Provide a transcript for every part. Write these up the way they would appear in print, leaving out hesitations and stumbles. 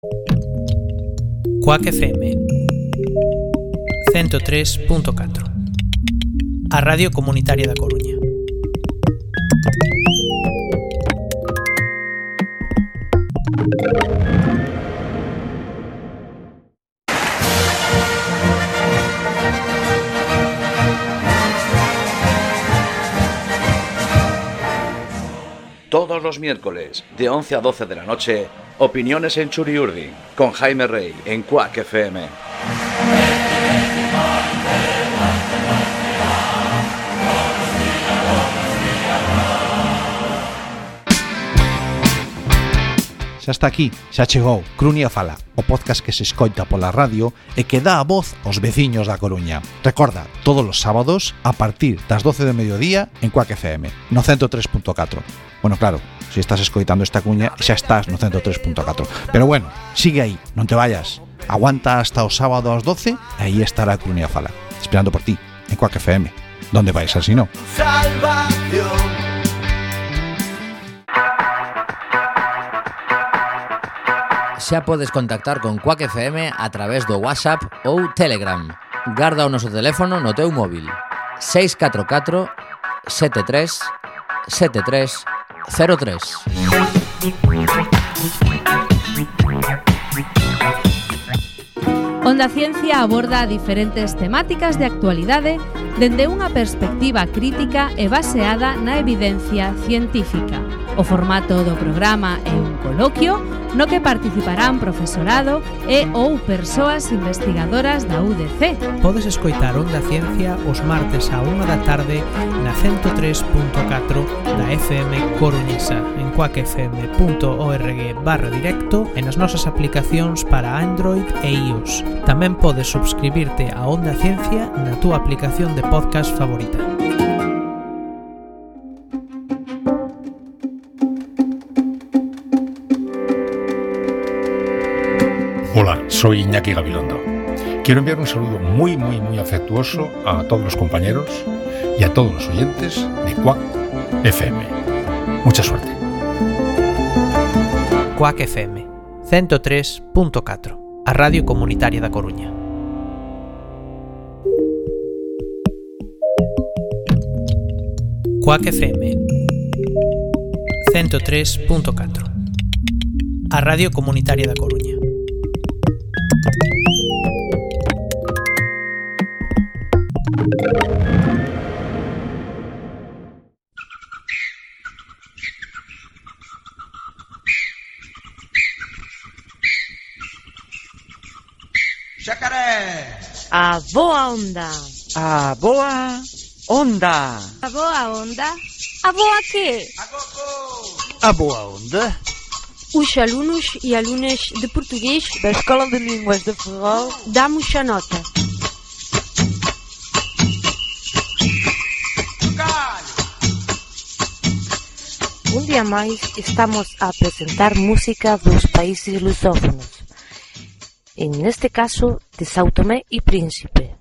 Cuac FM 103.4, a Radio Comunitaria da Coruña. Todos los miércoles, de 11 a 12 de la noche, Opiniones en Churiurdi, con Jaime Rey, en Cuac FM. Xa está aquí, xa chegou Crunia Fala, o podcast que se escoita pola radio e que dá a voz aos veciños da Coruña. Recorda, todos os sábados, a partir das 12 do mediodía, en Cuac FM, no 103.4. Bueno, claro, se estás escoitando esta cuña, xa estás no 103.4. Pero bueno, sigue aí, non te vayas. Aguanta hasta o sábado ás 12 e aí estará Crunia Fala, esperando por ti, en Cuac FM. ¿Dónde vais así no? Salvación. Xa podes contactar con Cuac FM a través do WhatsApp ou Telegram. Garda o noso teléfono no teu móvil: 644 73 73 03. Onda Ciencia aborda diferentes temáticas de actualidade dende unha perspectiva crítica e baseada na evidencia científica. O formato do programa é un coloquio no que participarán profesorado e ou persoas investigadoras da UDC. Podes escoitar Onda Ciencia os martes á 1 da tarde na 103.4 da FM Coruñesa, en cuacfm.org/directo e nas nosas aplicacións para Android e iOS. Tamén podes subscribirte a Onda Ciencia na túa aplicación de podcast favorita. Hola, soy Iñaki Gabilondo. Quiero enviar un saludo muy afectuoso a todos los compañeros y a todos los oyentes de Cuac FM. Mucha suerte. Cuac FM 103.4, a Radio Comunitaria da Coruña. Cuac FM 103.4, a Radio Comunitaria da Coruña. Xacaré! A boa onda! A boa onda! A boa onda? A boa que? A boa onda! Os alunos e alunas de português da Escola de Línguas de Ferrol damos a nota. Un día máis estamos a apresentar música dos países lusófonos, en este caso de São Tomé e Príncipe.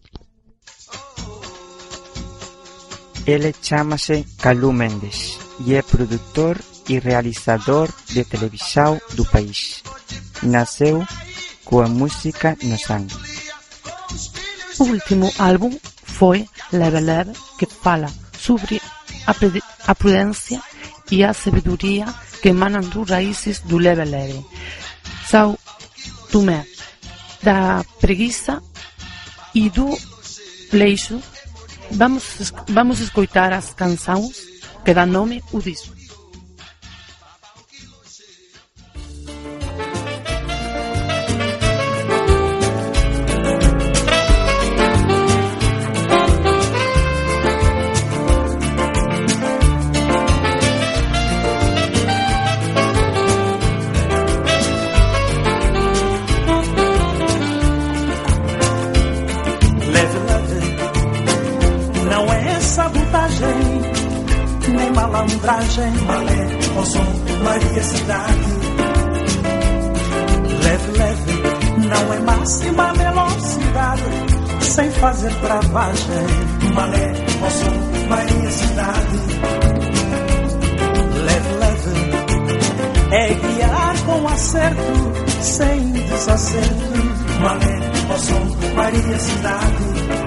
Ele chama-se Calú Mendes e é produtor e realizador de televisão do país. Nasceu coa música no sangue. O último álbum foi Leve Leve, que fala sobre a prudência e a sabedoria que emanam dos raízes do leve leve. São Tomé, da preguiça e do leixo. Vamos escutar as canções que dão nome ao disco. Malé, ao som Maria Cidade. Leve, leve, não é máxima velocidade, sem fazer travagem. Malé, ao som Maria Cidade. Leve, leve, é guiar com com acerto, sem desacerto. Malé, ó som, Maria, cidade.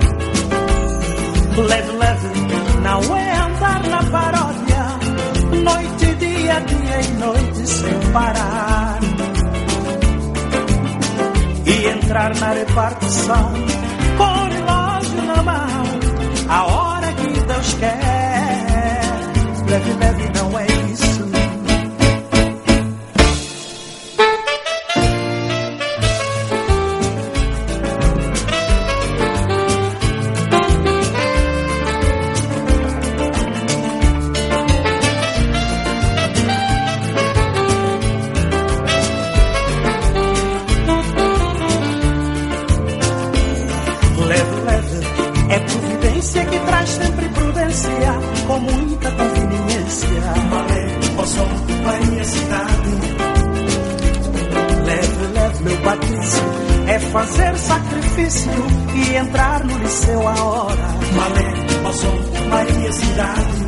Leve, leve, não é andar na paródia, noite, dia, dia e noite sem parar. E entrar na repartição com o relógio na mão, a hora que Deus quer. Leve, leve, não é isso. Que traz sempre prudência, com muita conveniência. Malé, ó som, Maria, cidade. Leve, leve, meu Patrício, é fazer sacrifício e entrar no liceu a hora. Malé, ó som, Maria, cidade.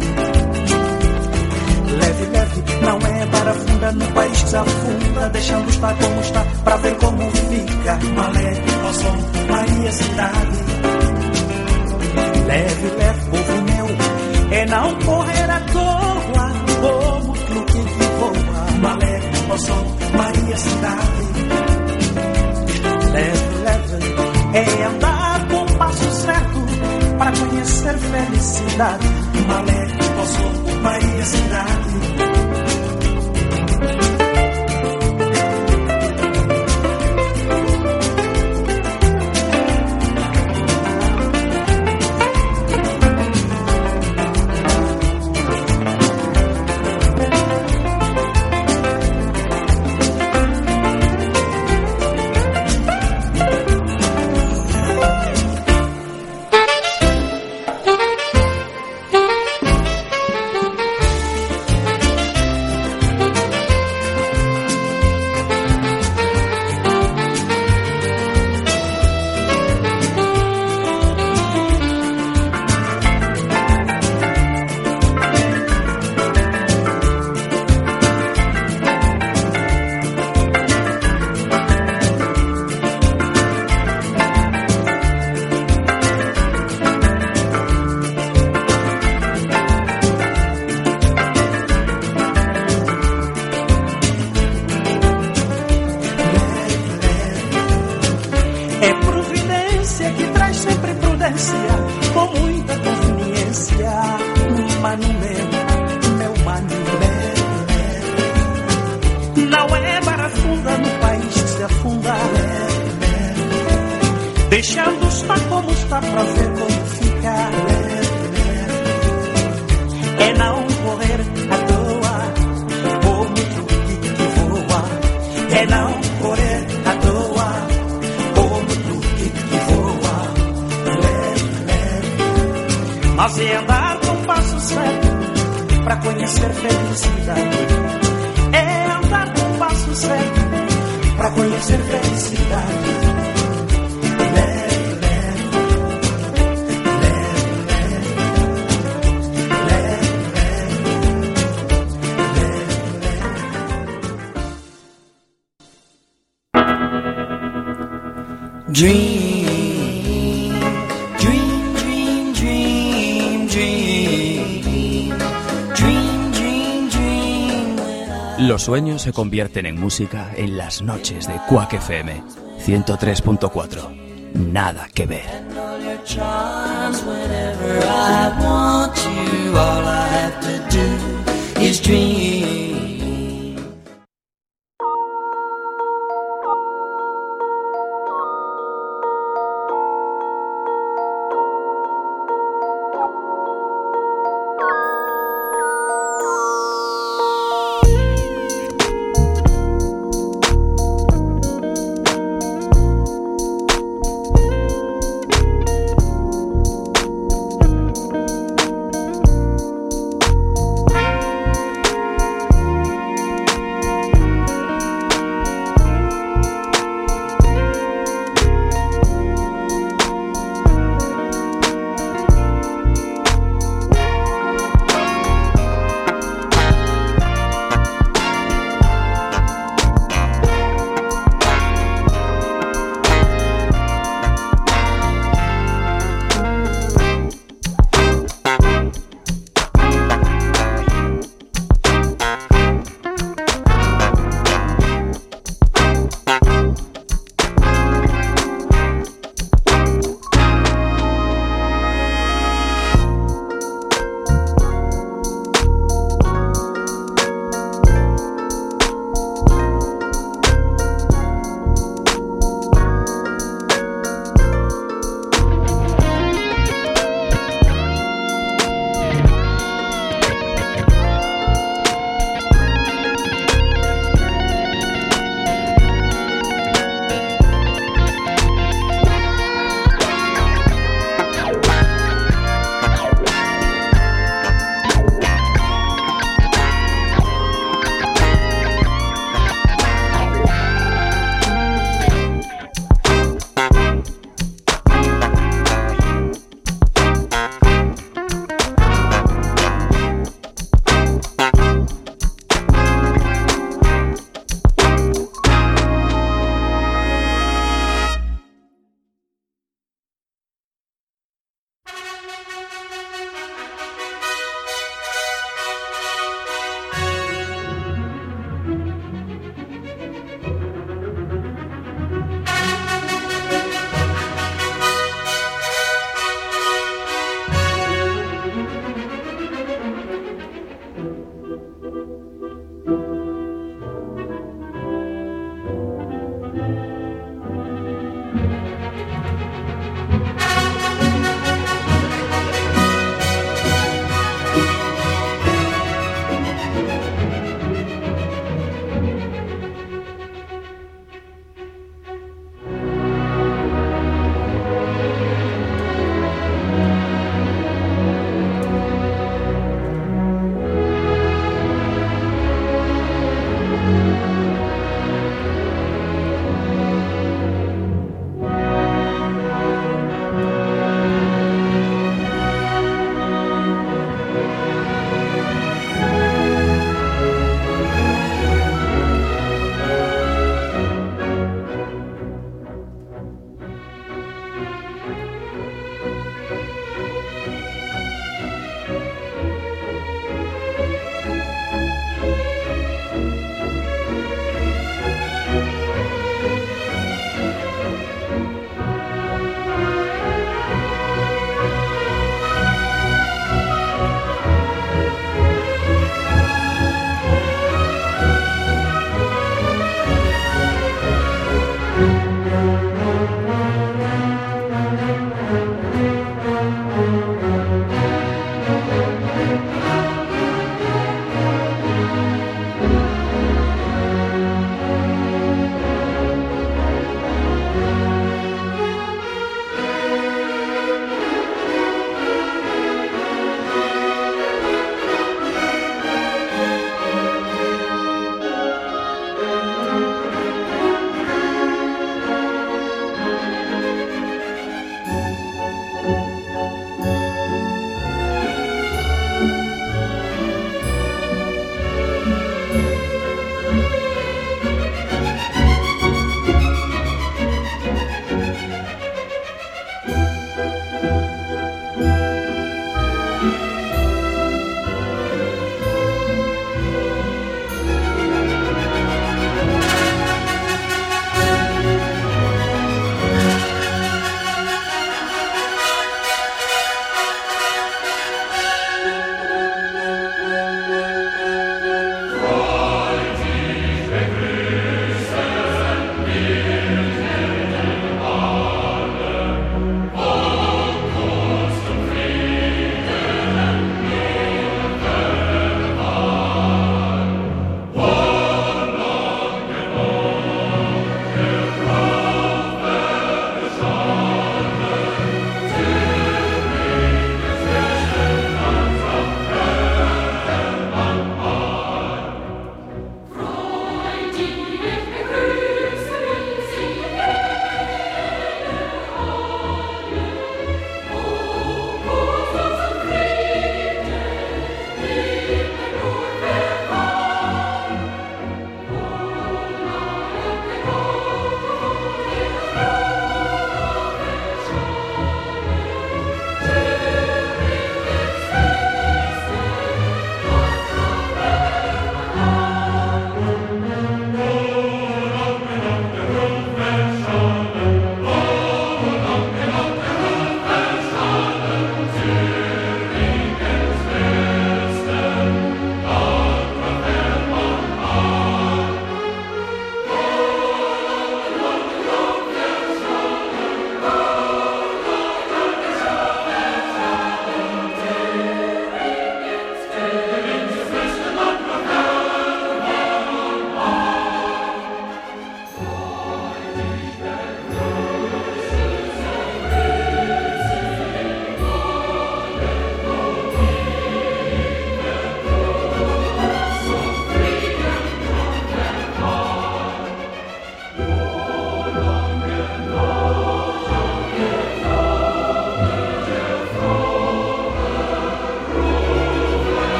Leve, leve, não é barafunda no país que se afunda, deixando estar como está, pra ver como fica. Malé, ó som, Maria, cidade. Leve, leve, povo meu, é não correr à toa, como truque que voa. Malé, ó som, Maria, cidade. Leve, leve, é andar com o passo certo, para conhecer felicidade. Malé, ó som, Maria, cidade. Deixando estar como está pra ver como fica. É não correr à toa, como truque que voa. É não correr à toa, como truque que voa. Leve, leve, mas é andar com passo certo, pra conhecer felicidade. É andar com passo certo, pra conhecer felicidade. Dream, dream, dream, dream, dream, dream, dream, dream. Los sueños se convierten en música en las noches de Quack FM 103.4. Nada que ver.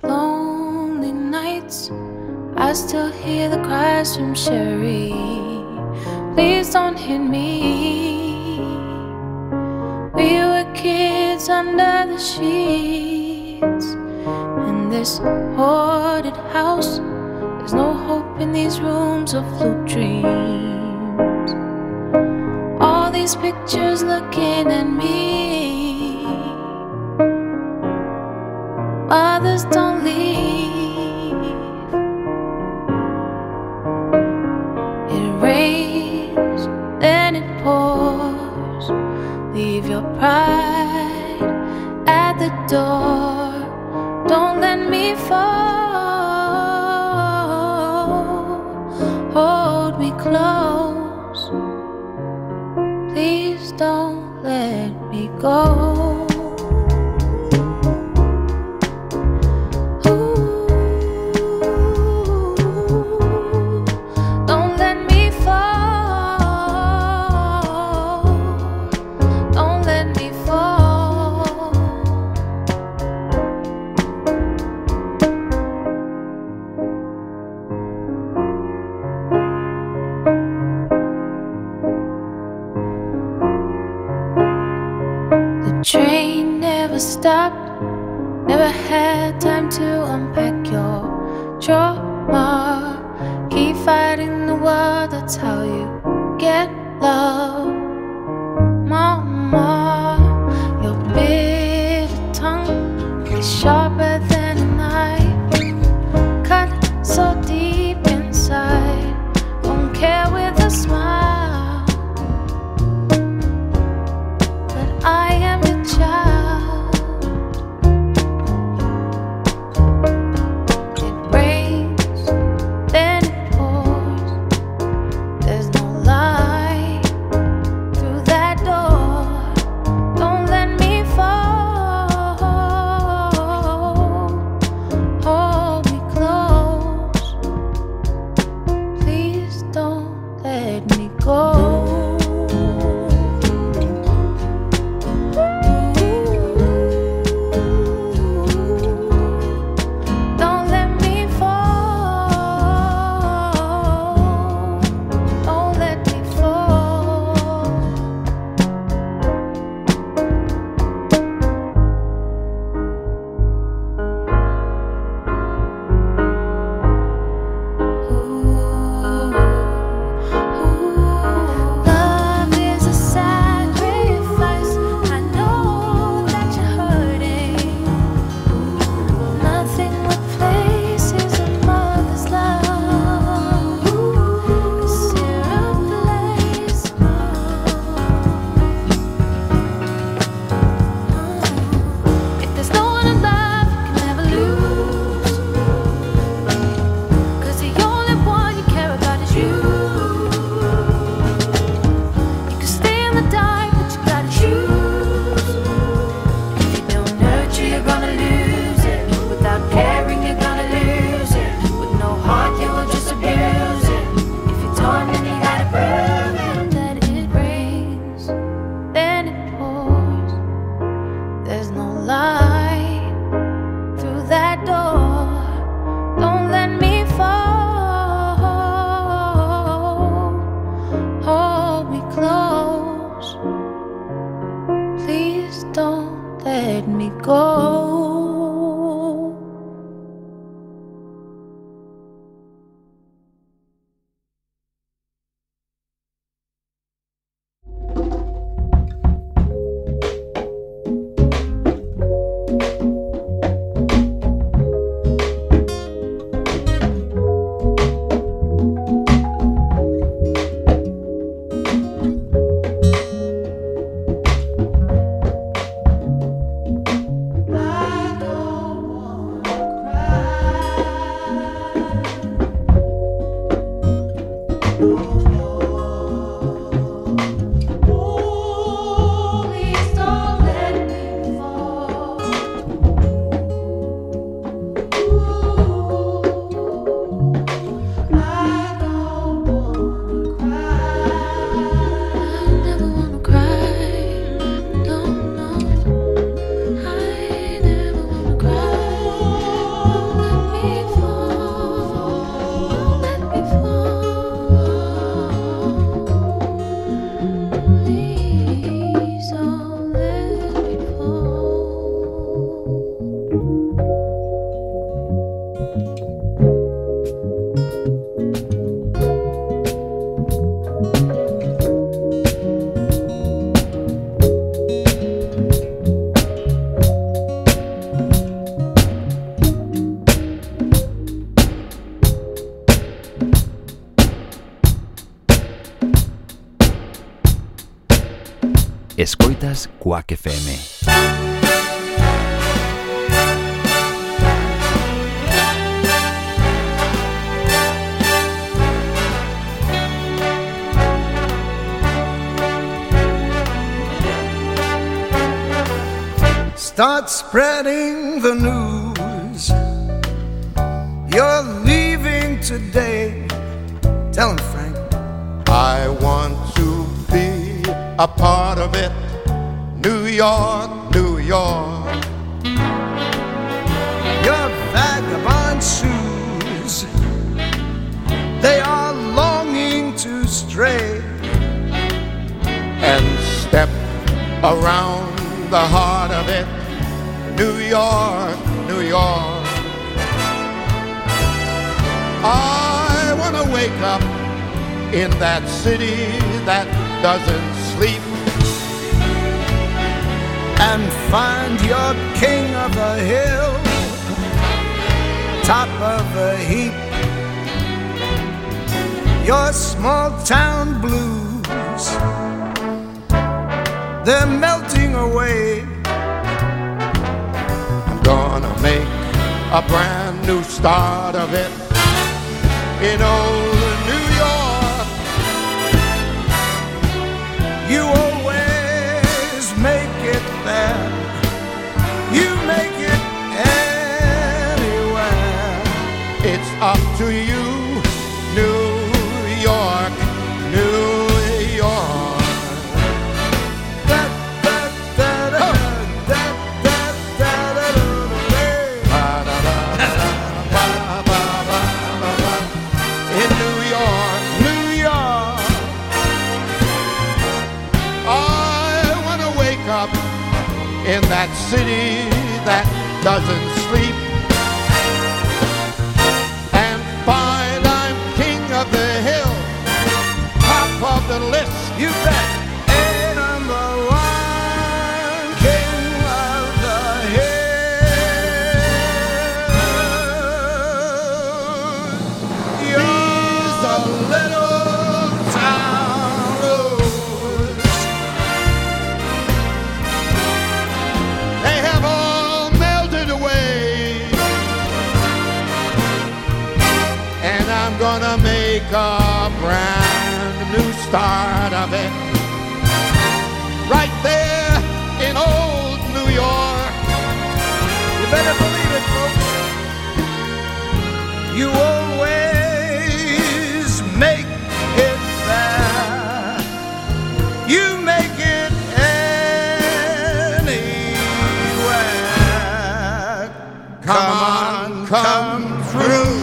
lonely nights, I still hear the cries from Sherry. Please don't hit me. We were kids under the sheets in this haunted house. There's no hope in these rooms of blue dreams. All these pictures looking at me. Others don't leave. It rains, then it pours. Leave your pride at the door. Don't let me fall. Hold me close. Please don't let me go. Train never stopped, never had time to unpack your trauma. Keep fighting the world, that's how you get love. Mama, your bitter tongue is sharper than a knife. Cut so deep inside, don't care with a smile. But I am child. It rains, then it pours. There's no light through that door. Don't let me fall. es Quack FM. Start spreading the news. You're leaving today. Tell him, Frank. I want to be a part of it. New York, New York. Your vagabond shoes, they are longing to stray and step around the heart of it. New York, New York. I want to wake up in that city that doesn't sleep and find your king of the hill, top of the heap. Your small town blues, they're melting away. I'm gonna make a brand new start of it in old New York. You always make it there. You make it anywhere. It's up to you, New York, New York. In that city that doesn't sleep and find I'm king of the hill, top of the list. You bet. A number one king of the hill. You're a little town road. I'm gonna make a brand new start of it right there in old New York. You better believe it, folks. You always make it there. You make it anywhere. Come on, come through.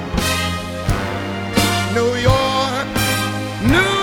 New York, New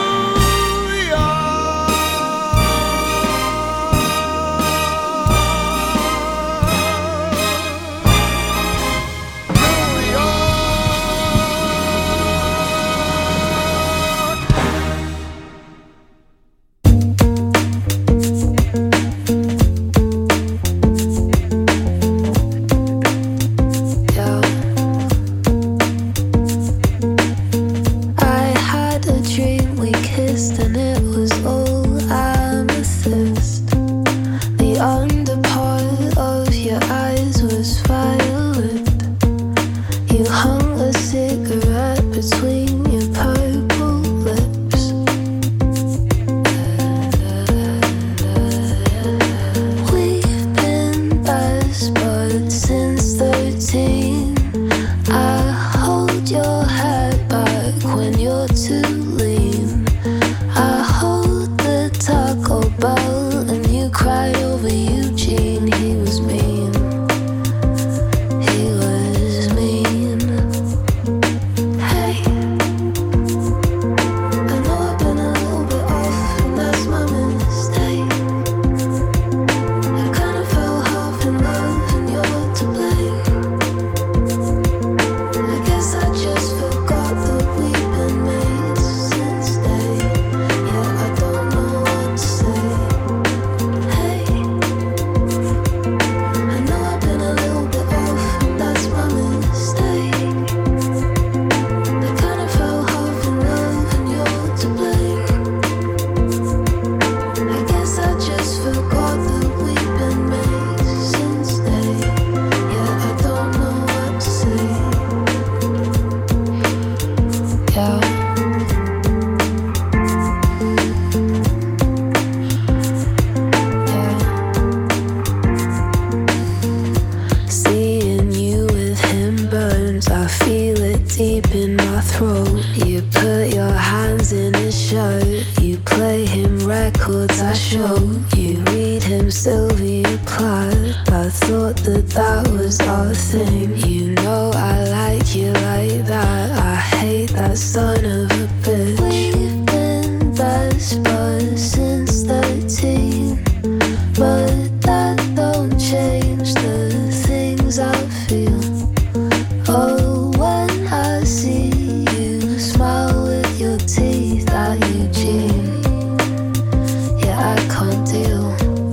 deep in my throat. You put your hands in his shirt. You play him records I show. You read him Sylvia Plath. I thought that was our thing. You know I like you like that. I hate that son of a bitch. We've been best buds since 13, but that don't change the things I feel. Oh, when I see you smile with your teeth at Eugene, yeah, I can't deal.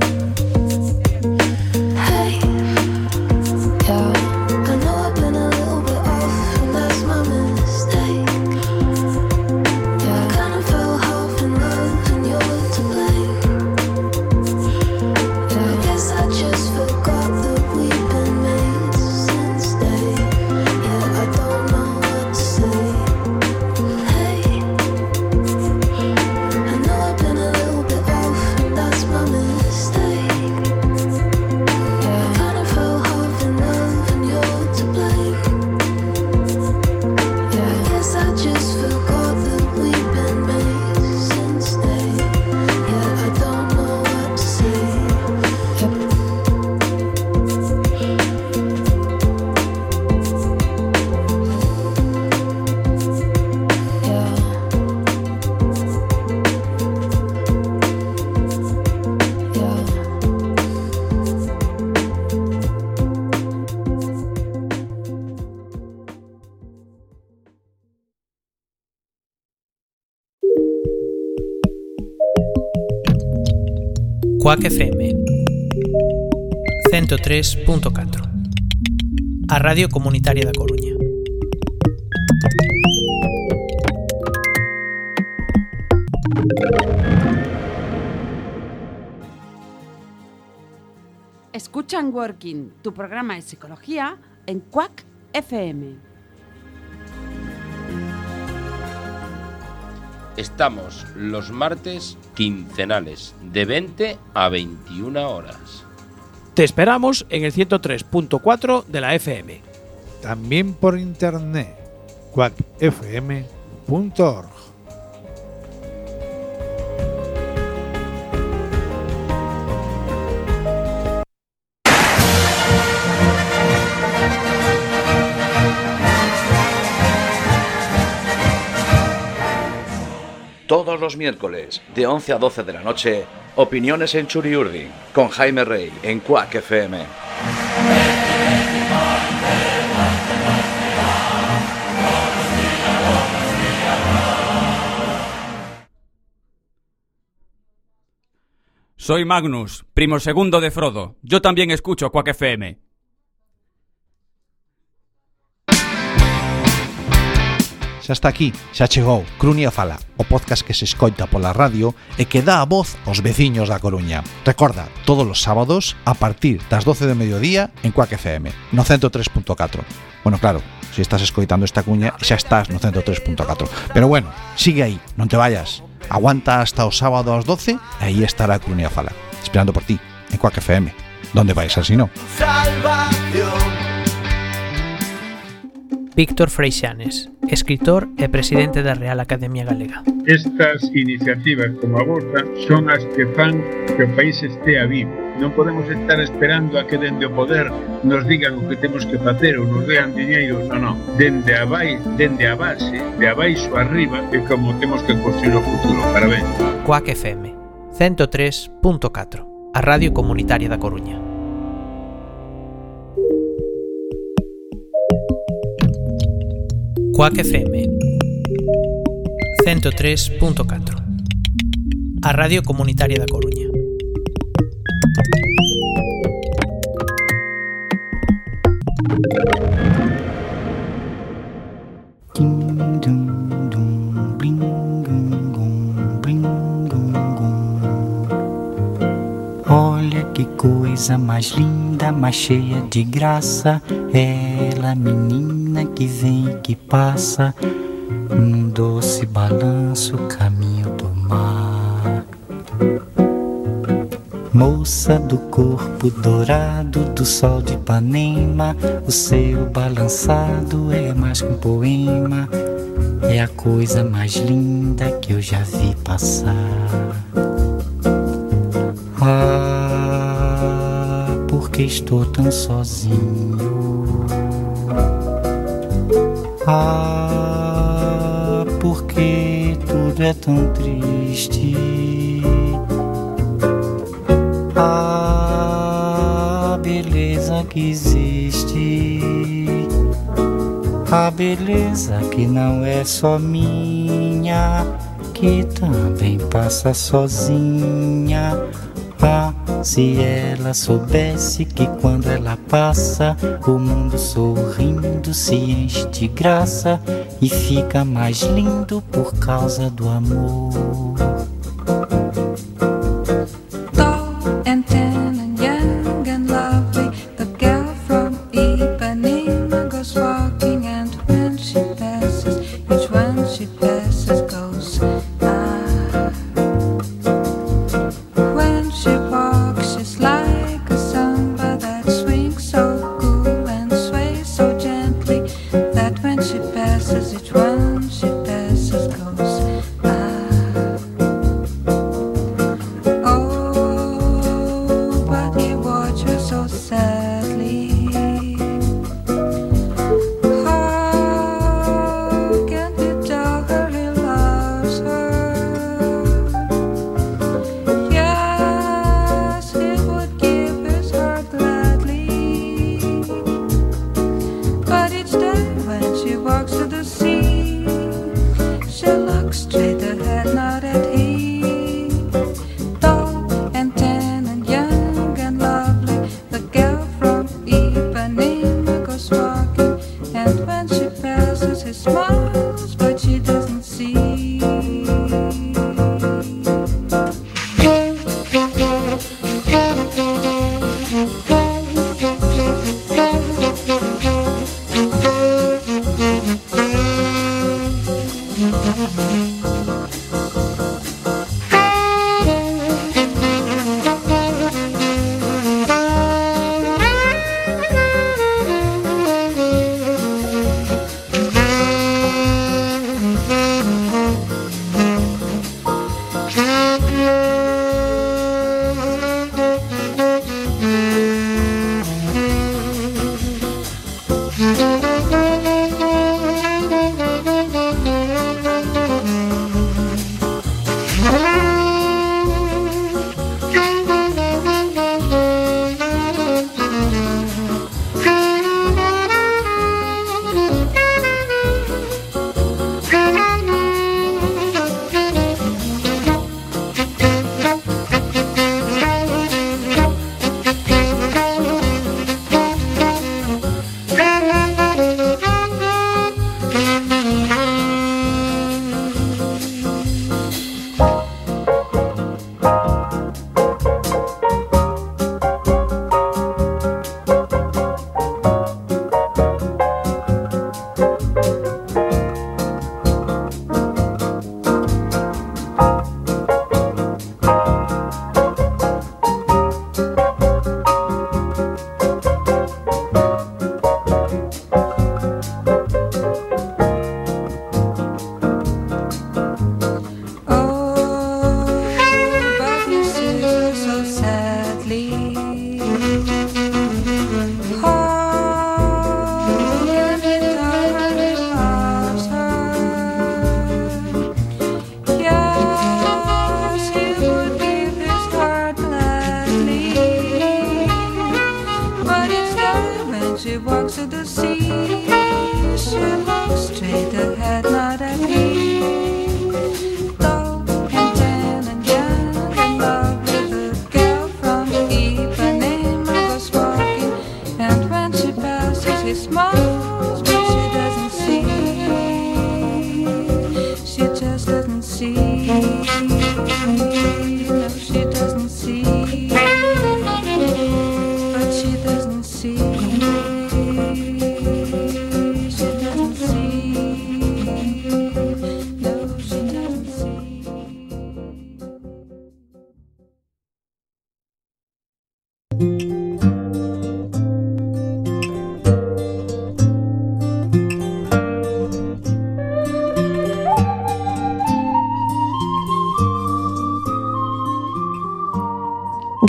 Hey, yeah, I know I've been a little bit off, and that's my mistake. Yeah, I kinda fell half in love, and you're to blame. Yeah, I guess I just forgot that we've been made since day. Yeah, I don't know what to say. Hey, I know I've been a little bit off, and that's my mistake. Yeah, I kinda fell half in love, and you're to blame. Yeah, I guess I just forgot that we've been made since day. Yeah, I don't know what to say. Yep. Yeah. Yeah. Quack FM 103.4, a Radio Comunitaria da Coruña. Escuchan Working, tu programa de psicología en Quack FM. Estamos los martes quincenales de 20 a 21 horas. Te esperamos en el 103.4 de la FM. También por internet, quackfm.org. Todos los miércoles, de 11 a 12 de la noche, Opiniones en Churiurdin, con Jaime Rey, en Quack FM. Soy Magnus, primo segundo de Frodo. Yo también escucho Quack FM. Xa está aquí, xa chegou Crunia Fala, o podcast que se escoita pola radio e que dá a voz aos veciños da Coruña. Recorda, todos os sábados a partir das 12 de mediodía en Quack FM, no 103.4. Bueno, claro, se estás escoitando esta cuña xa estás no 103.4. Pero bueno, sigue aí, non te vayas. Aguanta hasta o sábado ás 12 e aí estará Crunia Fala, esperando por ti, en Quack FM. ¿Dónde vais así no? Salvación. Víctor Freixanes, escritor e presidente da Real Academia Galega. Estas iniciativas como a vosa son as que fan que o país estea vivo. Non podemos estar esperando a que dende o poder nos digan o que temos que facer ou nos dean diñeiro, non. Dende a base, de abaixo arriba, é como temos que construir o futuro. Parabéns. Quack FM 103.4, a Radio Comunitaria da Coruña. Quack FM 103.4, a Radio Comunitaria da Coruña. Olha que coisa mais linda, mais cheia de graça, ela, menina que vem e que passa, num doce balanço, caminho do mar. Moça do corpo dourado do sol de Ipanema, o seu balançado é mais que um poema, é a coisa mais linda que eu já vi passar. Ah, porque estou tão sozinho? Ah, porque tudo é tão triste? A beleza que existe, a beleza que não é só minha, que também passa sozinha. Ah, se ela soubesse que quando ela passa, o mundo sorrindo se enche de graça e fica mais lindo por causa do amor. And tan and young and lovely, the girl from Ipanema goes walking, and when she passes, each one she passes goes ah. When she walks, she's like a samba that swings so cool and sways so gently, that when she passes, each one she passes goes ah. So sadly, how can he tell her he loves her? Yes, he would give his heart gladly, but each day when she walks to the sea, she looks straight ahead, not at him. Tall and tan and young and lovely, the girl from Ipanema goes walking, and when she passes, he smiles, but she doesn't see. She walks to the sea, she looks straight ahead, not at me. Tall and tan and young and lovely, the girl from Ipanema goes walking, and when she passes, he smiles, but she doesn't see. She just doesn't see. No, she doesn't see. But she doesn't see.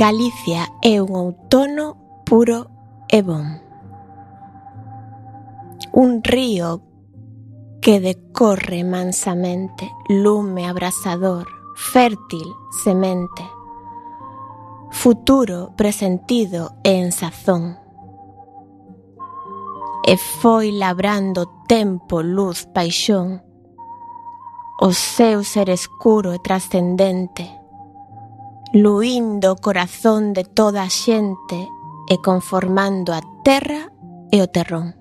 Galicia é un outono puro e bon. Un río que decorre mansamente, lume abrasador, fértil semente, futuro presentido e en sazón. E foi labrando tempo, luz, paixón, o seu ser escuro e trascendente, luindo o corazón de toda a xente e conformando a terra e o terrón.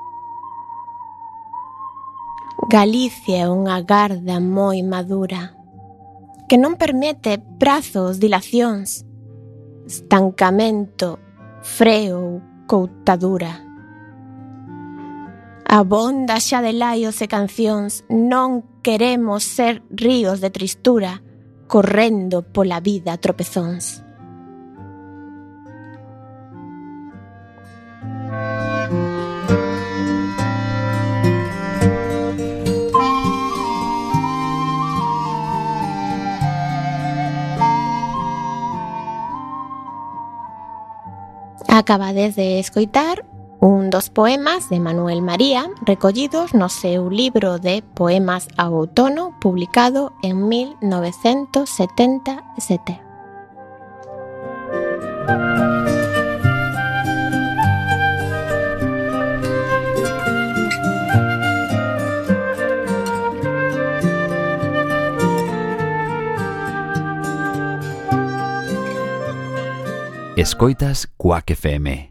Galicia é unha garda moi madura que non permite prazos, dilacións, estancamento, freo ou coutadura. Abonda xa de laios e cancións, non queremos ser ríos de tristura, correndo pola vida a tropezóns. Acabades de escoitar un dos poemas de Manuel María recollidos no seu libro de Poemas ao outono publicado en 1977. Escoitas Quack FM.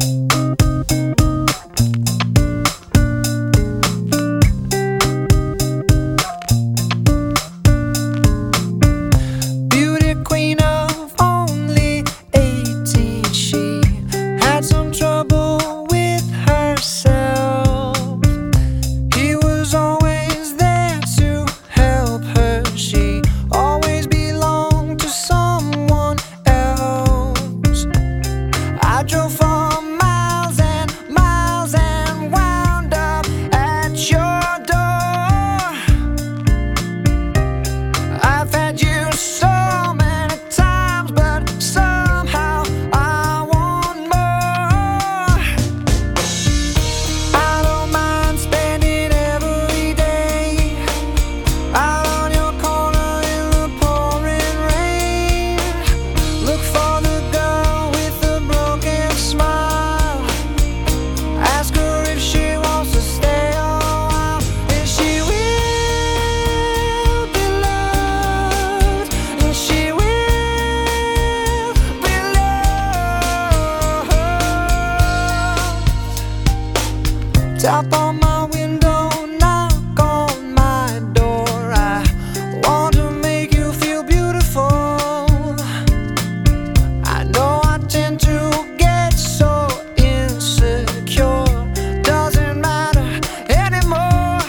Tap on my window, knock on my door. I want to make you feel beautiful. I know I tend to get so insecure. Doesn't matter anymore.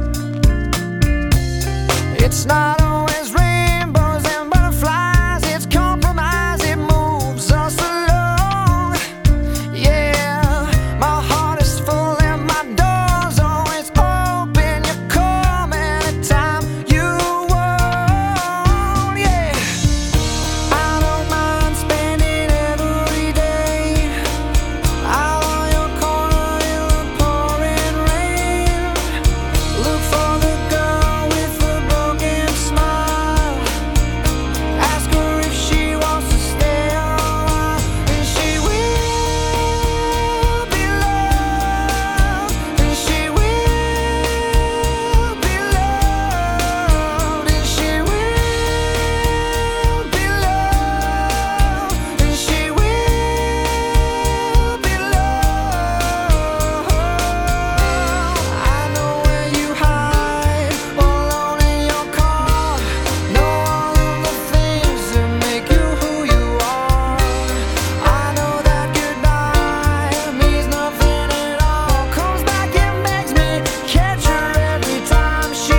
It's not always rainbows and butterflies. It's compromise, it moves us along. Yeah, my heart is full and my door's always open. You come anytime you want. Yeah, I don't mind spending every day out on your corner in the pouring rain. Look for the girl with the broken smile. Ask her if she wants to stay a while, and she will be loved, and she will be loved, and she will be loved, and she will be loved. I know where you hide, alone in your car. Know all of the things that make you who you are. I know that goodbye means nothing at all. Comes back and begs me, catch her every time she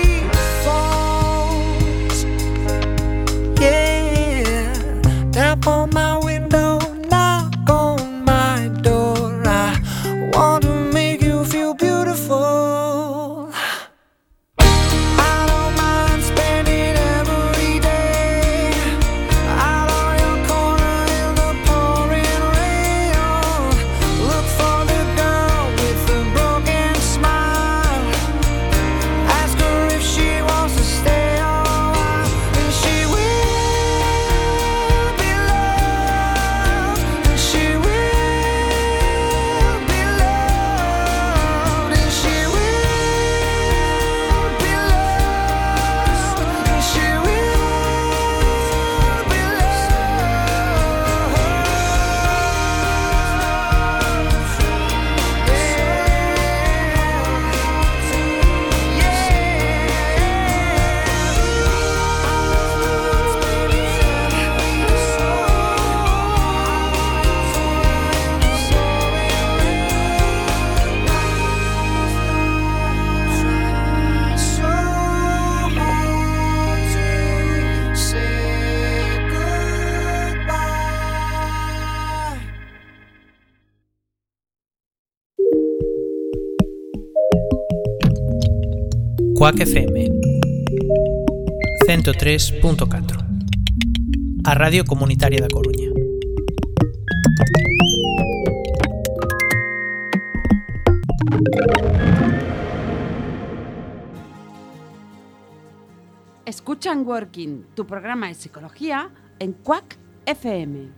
falls. Yeah, tap on my window, knock on my door. I want to make you feel beautiful. I don't mind spending every day out on your corner Quack FM 103.4, a Radio Comunitaria da Coruña. Escuchan Working, tu programa de psicología en Quack FM.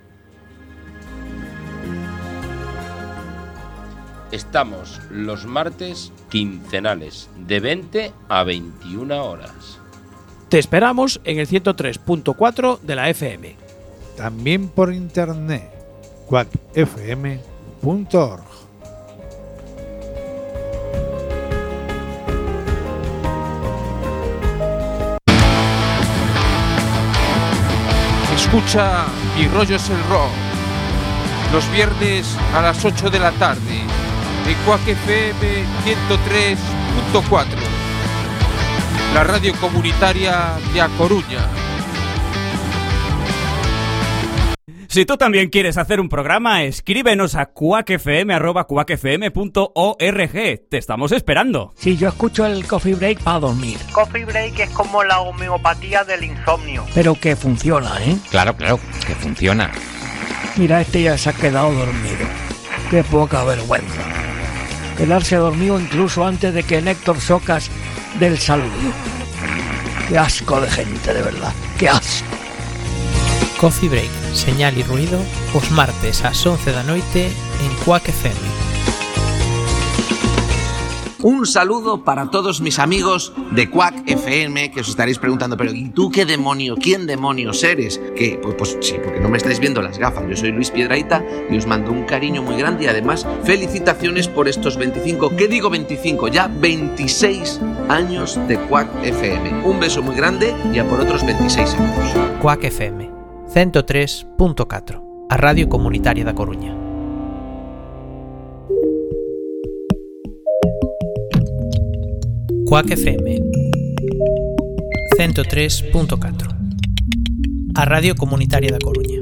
Estamos los martes quincenales de 20 a 21 horas. Te esperamos en el 103.4 de la FM. También por internet, quackfm.org. Escucha Mi Rollo es el Rock los viernes a las 8 de la tarde en Quack FM 103.4, la radio comunitaria de A Coruña. Si tú también quieres hacer un programa, escríbenos a quackfm@quackfm.org. Te estamos esperando. Sí, yo escucho el Coffee Break para dormir. Coffee Break es como la homeopatía del insomnio. Pero que funciona, ¿eh? Claro, que funciona. Mira, este ya se ha quedado dormido. Qué poca vergüenza. Quedarse dormido incluso antes de que Néctor Socas dé el saludo. Qué asco de gente, de verdad. Qué asco. Coffee Break, señal y ruido, os martes ás 11 da noite en Quack FM. Un saludo para todos mis amigos de Quack FM, que os estaréis preguntando, pero ¿y tú qué demonio, quién demonios eres? Que pues sí, porque no me estáis viendo las gafas. Yo soy Luis Piedrahita y os mando un cariño muy grande y además felicitaciones por estos 25, ¿qué digo 25? Ya 26 años de Quack FM. Un beso muy grande y a por otros 26 años. Quack FM 103.4, a Radio Comunitaria da Coruña. Quack FM 103.4, a Radio Comunitaria da Coruña.